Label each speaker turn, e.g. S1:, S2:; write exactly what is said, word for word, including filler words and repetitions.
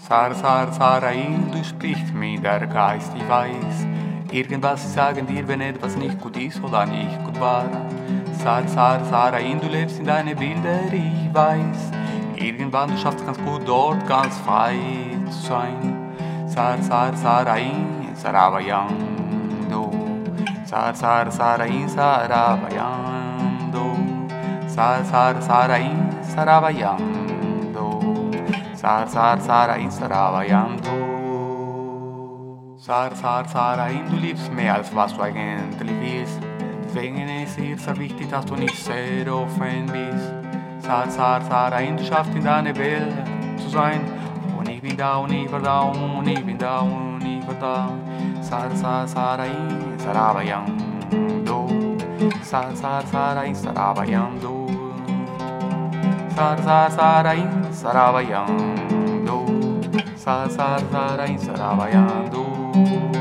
S1: Sar, Sar, Sarain, du sprichst mir der Geist, ich weiß. Irgendwas sie sagen dir, wenn etwas nicht gut ist oder nicht gut war. Sar, Sar, Sarain, du lebst in deine Bilder, ich weiß. Irgendwann du schaffst ganz gut dort ganz frei zu sein. Sar, Sar, Sarain, Sarabayando. Sar, Sar, Sarain, Sarabayando. Sar, Sar, Sarain, Sarabayando. Sar, Sar, Sarain, Sarabayando. Sar, Sar, Sarain, du liebst mehr als was du eigentlich willst. Deswegen ist es sehr wichtig, dass du nicht sehr offen bist. Sar, Sar, Sarain, du schaffst in deiner Welt zu sein. Und ich bin da und ich war da und ich bin da und ich war da. Sar, Sar, Sarain, Sarabayando. Sar, Sar, Sarain, Sarabayando. Sar, Sar, Sarain, Sarabayando. Sar, Sar, Sarain, Sarabayando.